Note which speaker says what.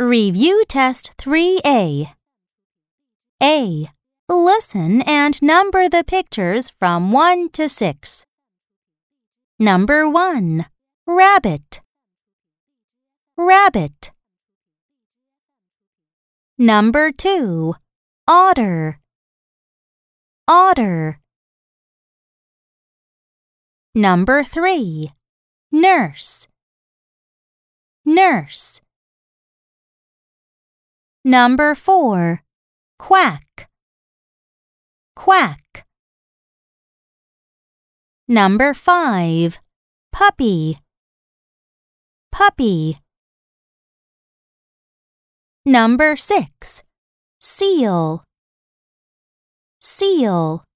Speaker 1: Review Test 3A. A. Listen and number the pictures from 1 to 6. Number 1. Rabbit. Rabbit. Number 2. Otter. Otter. Number 3. Nurse. Nurse. Number 4. Quack. Quack. Number 5. Puppy. Puppy. Number 6. Seal. Seal.